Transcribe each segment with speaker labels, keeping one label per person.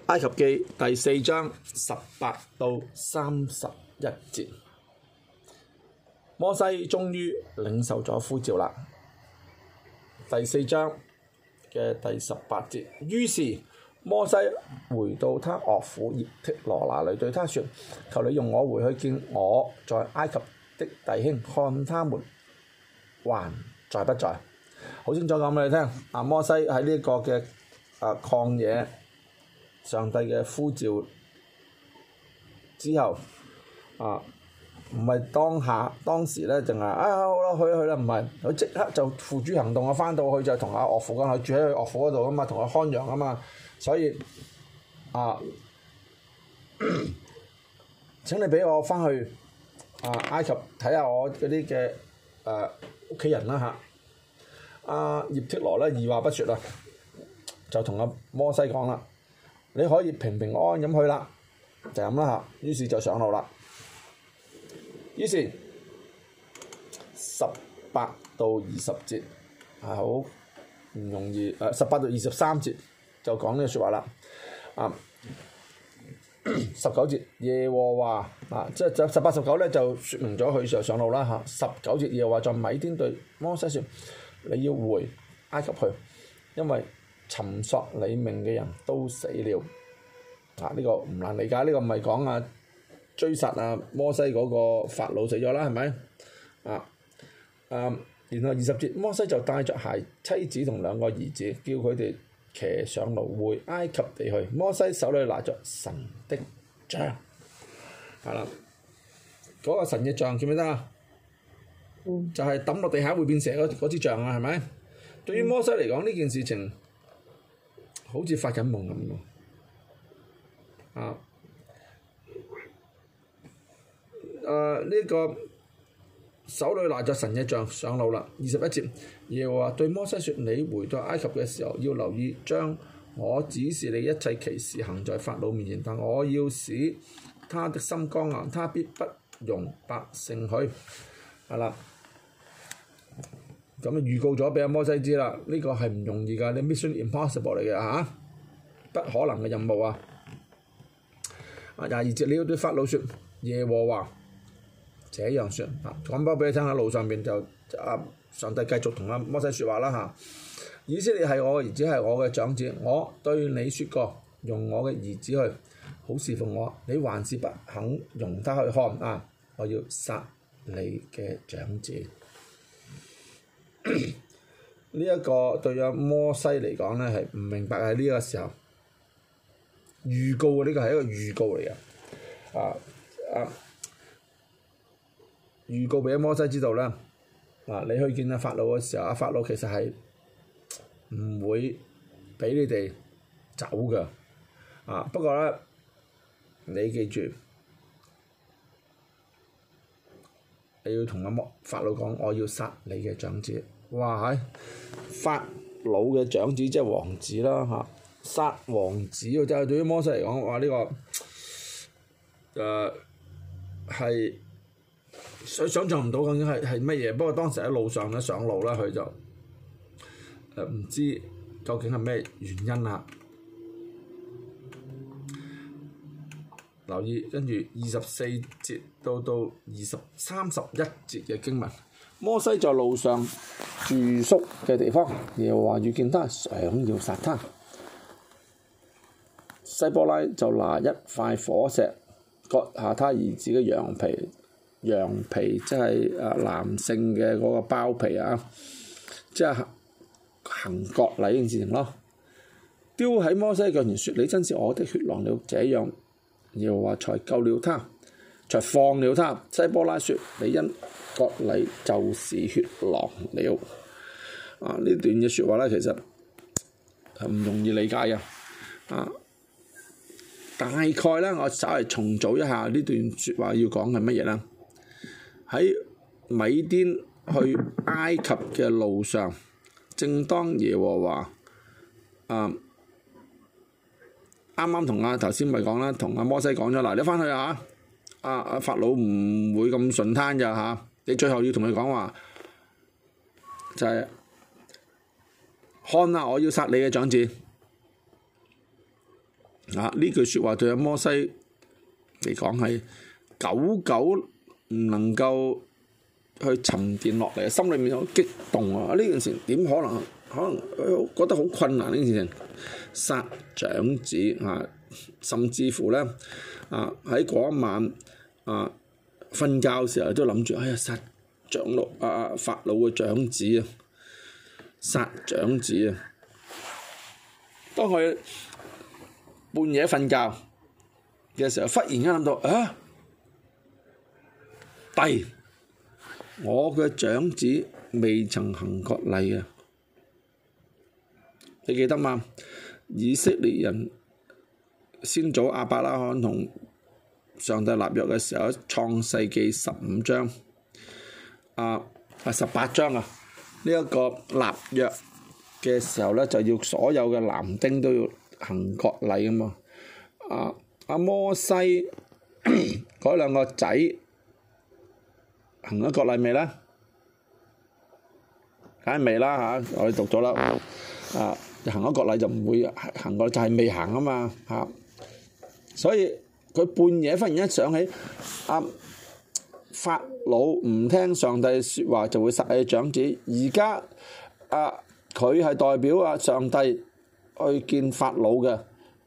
Speaker 1: 埃及記第4章18到31節，摩西終於領受咗呼召啦。第4章嘅第18節，於是摩西回到他岳父葉忒羅那裡，對他說：求你用我回去見我在埃及的弟兄，看他們還在不在。好清楚講俾你聽，摩西喺呢個嘅曠野，上帝嘅呼召之後，唔係當時咧，淨係好啦，去啦，唔係佢即刻就付諸行動啊！翻到去就同阿岳父講，佢住喺佢岳父嗰度啊嘛，同佢看羊啊嘛，所以請你俾我翻去埃及睇下我嗰啲嘅屋企人啦嚇。葉忒羅咧二話不說啦，就同阿摩西講啦：你可以平平安安咁去啦，就咁啦嚇。於是就上路啦。於是18到20節係好唔容易，18到23節就講呢個説話啦。19節耶和華即係18、19咧就説明咗佢就上路啦嚇。19節耶和華在米甸對摩西説：你要回埃及去，因為尋索你命嘅人都死了。呢個唔難理解，呢個唔係講追殺摩西嗰個法老死咗啦，係咪？然後20節，摩西就帶着妻子同2個兒子，叫佢哋騎上驢回埃及地去。摩西手裏拿着神的杖，係啦，嗰個神嘅杖記唔記得啊？就係抌落地下會變蛇嗰支杖啊，係咪？對於摩西嚟講，呢件事情好似發緊夢咁喎。呢個手裏拿着神嘅杖上路啦。21節，耶和華對摩西説：你回到埃及嘅時候，要留意將我指示你一切奇事行在法老面前，但我要使他的心剛硬，他必不容百姓去。係啦，咁預告咗俾阿摩西知啦，呢個係唔容易㗎，你 mission impossible 嚟嘅嚇，不可能嘅任務啊！22節，你要對法老説：耶和華這樣説，講翻俾你聽，喺路上邊就上帝繼續同阿摩西説話啦嚇。以色列係我嘅兒子，係我嘅長子，我對你説過，用我嘅兒子去好侍奉我，你還是不肯容他去看我要殺你嘅長子。呢一個對阿摩西嚟講咧係唔明白，喺呢個時候預告，呢個係一個預告嚟嘅。預告俾阿摩西知道啦。你去見阿法老嘅時候，阿法老其實係唔會俾你哋走㗎。不過咧，你記住，你要同阿法老講，我要殺你嘅長子。哇係，法老嘅長子即係王子啦嚇，殺王子喎，真係對於摩西嚟講，哇呢個係想像唔到究竟係乜嘢。不過當時喺路上咧上路啦，佢就唔知究竟係咩原因啦。留意跟住24節到31節嘅經文，摩西在路上住宿嘅地方，耶和華遇見他，想要殺他。西波拉就拿一塊火石割下他兒子嘅羊皮，即係男性嘅嗰個包皮即係行割禮嘅事情咯。丟喺摩西腳前說：你真是我的血狼了。這樣耶和華才救了他，才放了他。西波拉說：你因割禮就是血狼了。呢段嘅説話咧，其實係唔容易理解嘅。大概咧，我稍微重組一下呢段説話要講係乜嘢啦？喺米甸去埃及嘅路上，正當耶和華啱啱同頭先咪講啦，同阿摩西講咗嗱，你翻去法老唔會咁順攤咋嚇，你最後要同佢講話，就係看我要殺你嘅長子。 呢句説話對阿摩西嚟講係久久唔能夠去沉澱落嚟，心裏面好激動啊！呢件事點可能覺得好困難呢件事情，殺長子甚至乎咧喺嗰一晚瞓覺嘅時候都諗住，哎呀殺法老嘅長子啊，殺長子啊！當佢半夜瞓覺嘅時候，忽然間諗到弟，我嘅長子未曾行割禮啊！你記得嘛？以色列人先祖亞伯拉罕同上帝立約嘅時候，創世記15章18章呢一個立約嘅時候咧，就要所有嘅男丁都要行割禮啊嘛。阿摩西嗰兩個仔行咗割禮未咧？梗係未啦嚇，我哋讀咗啦。行咗割禮就唔會行過，就係未行啊嘛嚇。所以佢半夜忽然間想起法老唔聽上帝説話就會殺你長子，而家佢係代表上帝去見法老嘅，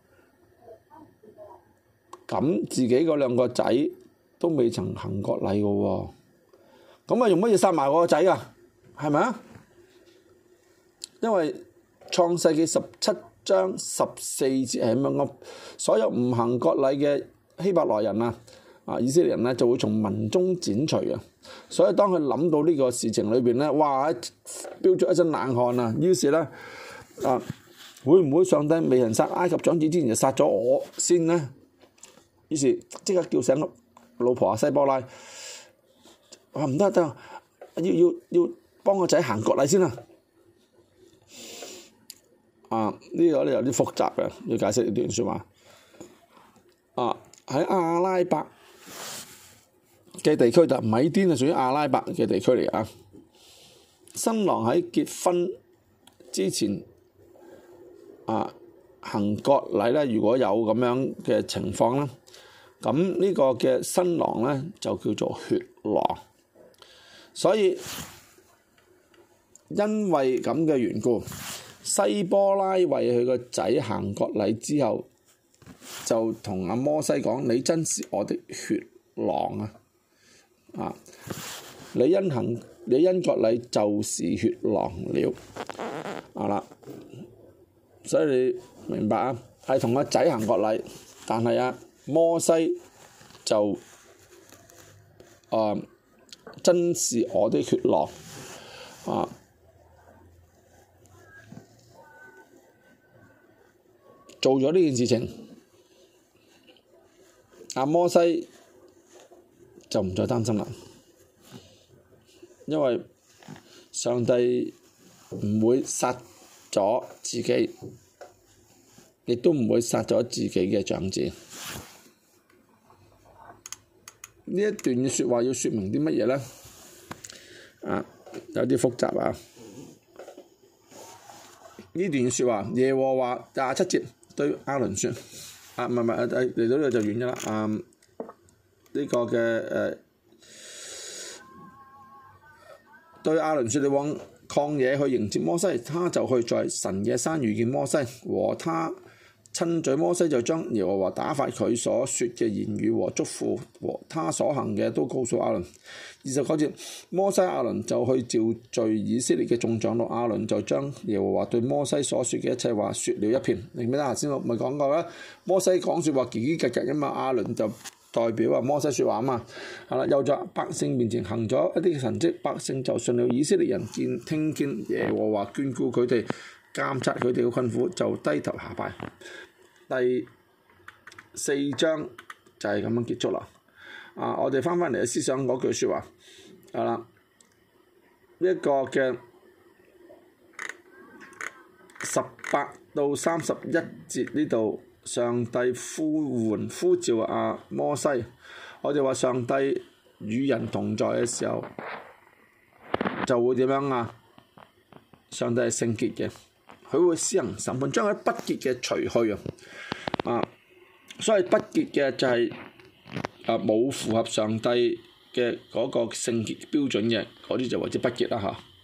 Speaker 1: 咁自己嗰兩個仔都未曾行割禮嘅喎，咁用乜嘢殺埋我個仔啊？係咪啊？因為創世記17章14節係咁樣講，所有唔行割禮嘅希伯來人以色列人咧就會從民中剪除啊！所以當佢諗到呢個事情裏邊咧，哇！飆出一身冷汗啊！於是咧會唔會上帝未人殺埃及長子之前就殺咗我先呢？於是即刻叫醒老婆西波拉，話唔得，要幫個仔行割禮先啊！呢個咧有啲複雜嘅，要解釋呢段説話。喺阿拉伯嘅地區，就米甸係屬於阿拉伯嘅地區嚟啊。新郎喺結婚之前行割禮咧，如果有咁樣嘅情況咧，咁呢個嘅新郎咧就叫做血郎。所以因為咁嘅緣故，西波拉為佢個仔行割禮之後，就同阿摩西講：你真是我的血郎啊！你因割禮就是血郎了啦。所以你明白係同個仔行割禮，但係摩西就真是我的血郎做咗呢件事情，摩西就唔再擔心啦，因為上帝唔會殺咗自己，亦都唔會殺咗自己嘅長子。呢一段嘅説話要説明啲乜嘢咧？有啲複雜啊！呢段説話，耶和華27節對亞倫説：嚟到呢度就完咗啦。呢個嘅對亞倫説：你往曠野去迎接摩西，他就去在神嘅山遇見摩西，和他親嘴。摩西就將耶和華打發佢所說嘅言語和囑咐和他所行嘅都告訴亞倫。29節，摩西亞倫就去召聚以色列嘅眾長老，亞倫就將耶和華對摩西所說嘅一切話說了一遍。你記得頭先我咪講過啦，摩西講説話嘰嘰格格啊嘛，亞倫就代表摩西説話啊嘛。又在百姓面前行咗一啲神蹟，百姓就信了。以色列人聽見耶和華眷顧佢哋，監察佢哋嘅困苦，就低頭下拜。第4章就係咁樣結束啦。我哋翻返嚟思想嗰句説話，呢一個嘅18到31節呢度，上帝呼召摩西。我哋話上帝與人同在嘅時候，就會點樣啊？上帝係聖潔嘅，佢會施行審判，將佢不潔嘅除去所以不潔嘅就係冇符合上帝嘅嗰個聖潔標準嘅，嗰啲就為之不潔啦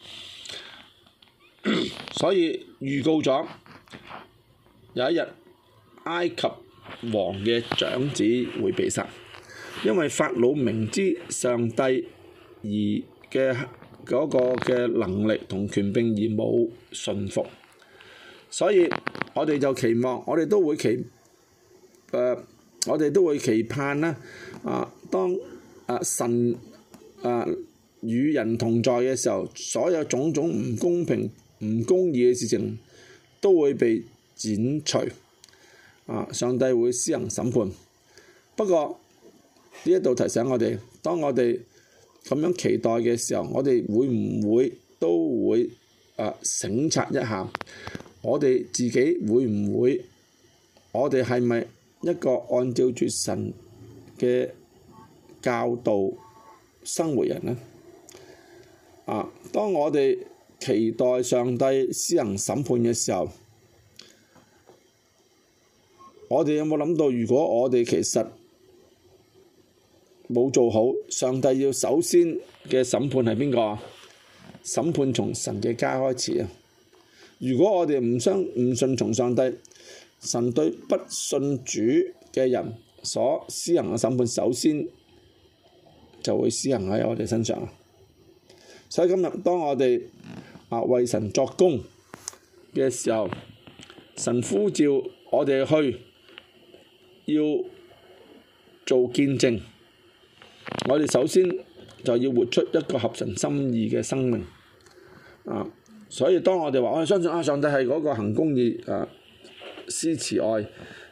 Speaker 1: 嚇。所以預告咗有一日埃及王嘅長子會被殺，因為法老明知上帝而嘅嗰個嘅能力同權柄而冇順服，所以我哋就期望，我哋都會期盼啦。當神與人同在嘅時候，所有種種唔公平、唔公義嘅事情都會被剪除。上帝會施行審判。不過呢一度提醒我哋，當我哋咁樣期待嘅時候，我哋會唔會都會省察一下，我哋自己會唔會，我哋係咪一個按照住神嘅教導生活人呢？當我哋期待上帝施行審判嘅時候，我哋有冇諗到，如果我哋其實冇做好，上帝要首先嘅審判係邊個？審判從神嘅家開始啊！如果我哋唔順從上帝，神對不信主嘅人所施行嘅審判，首先就會施行喺我哋身上。所以今日當我哋為神作工嘅時候，神呼召我哋去要做見證，我哋首先就要活出一個合神心意嘅生命。所以當我哋話我哋相信上帝係嗰個行公義、施慈愛、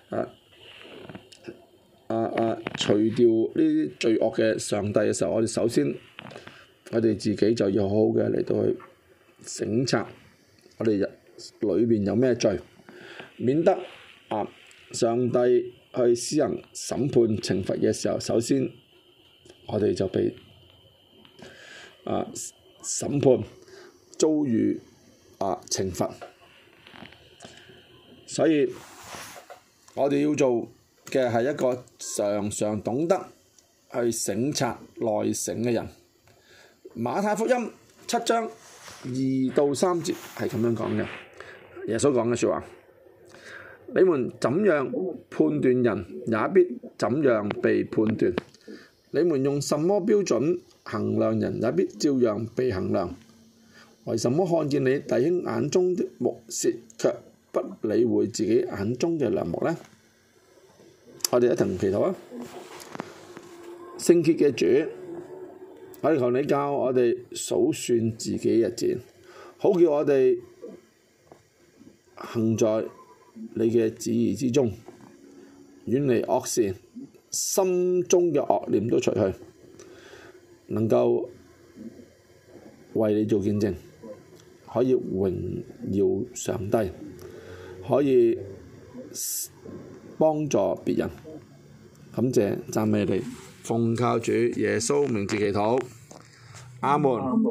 Speaker 1: 除掉呢啲罪惡嘅上帝嘅時候，我哋首先我哋自己就要好好嘅嚟到去省察我哋裏邊有咩罪，免得上帝去施行審判懲罰嘅時候，首先我哋就被審判遭遇懲罰。所以我哋要做嘅係一個常常懂得去省察內省嘅人。馬太福音7章2到3節係咁樣講嘅，耶穌講嘅説話：你們怎樣判斷人，也必怎樣被判斷；你們用什麼標準衡量人，也必照樣被衡量。為什麼看見你弟兄眼中的木屑，卻不理會自己眼中嘅梁木呢？我哋一同祈禱啊！聖潔嘅主，我哋求你教我哋數算自己日子，好叫我哋行在你嘅旨意之中，遠離惡事，心中嘅惡念都除去，能夠為你做見證，可以榮耀上帝，可以幫助別人。感謝讚美你，奉靠主耶穌名字祈禱，阿門。